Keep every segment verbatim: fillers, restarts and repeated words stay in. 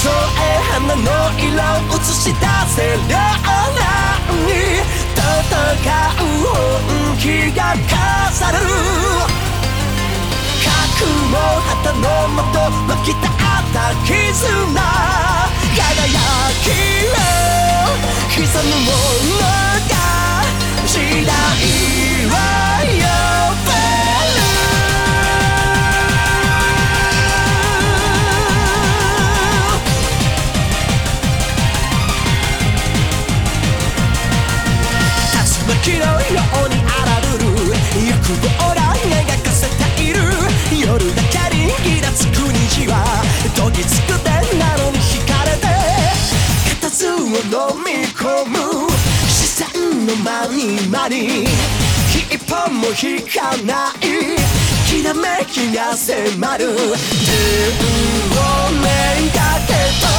え花の色を映し出せるようなに戦う本気が飾る覚悟旗のもと湧き立った絆輝きを刻むものが時代は呼べる竜巻のように荒ぶる欲望ら描かせている夜だけにギラつく虹はどぎつくてなのに惹かれて固唾を飲み込む視線の間に間に一本も引かないきらめきが迫る天をめがけと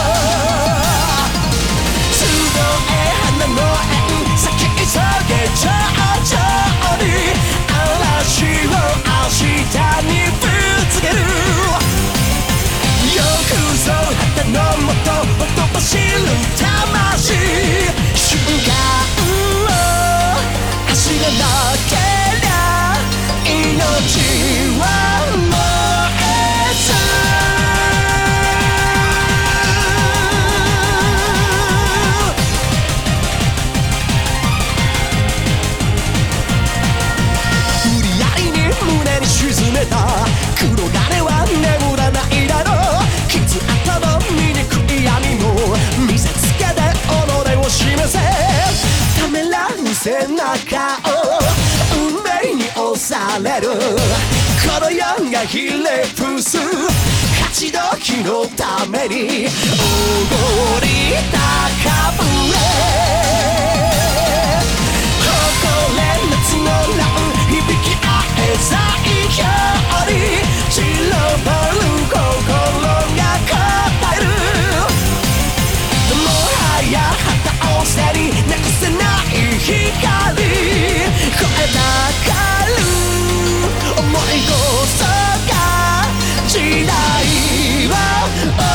集え花の縁咲き急げ上々に嵐を明日にぶつけるよくぞ旗のもとほとばしる魂瞬間を足がなけりゃ命は燃えず無理やりに胸に沈めた黒金は眠らないだろう傷跡の醜い闇も見せつけて己を示せためらう背中を運命に押されるこの世がひれ伏す勝ち時のために踊り高ぶれ誇れ夏の乱響き合え最強に散らばる心が答えるもはや旗を背になくせない光声高る思いこそが時代は